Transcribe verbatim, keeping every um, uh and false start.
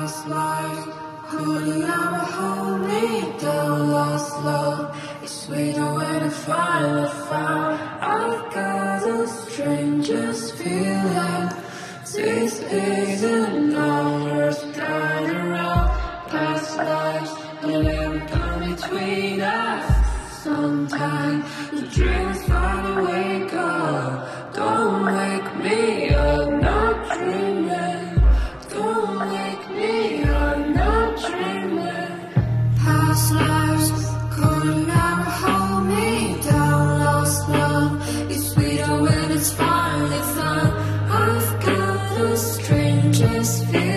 Past life could never hold me down. Lost love is sweeter when I finally found. I've got the strangest feeling. This isn't ours, turn around. Past lives will never come between us. Sometimes the dreams finally wake up. Don't wake me up, not dreaming. Don't wake me up, not dreaming. Past lives could never hold me down. Lost love is sweeter when it's finally found. I've got the strangest feeling.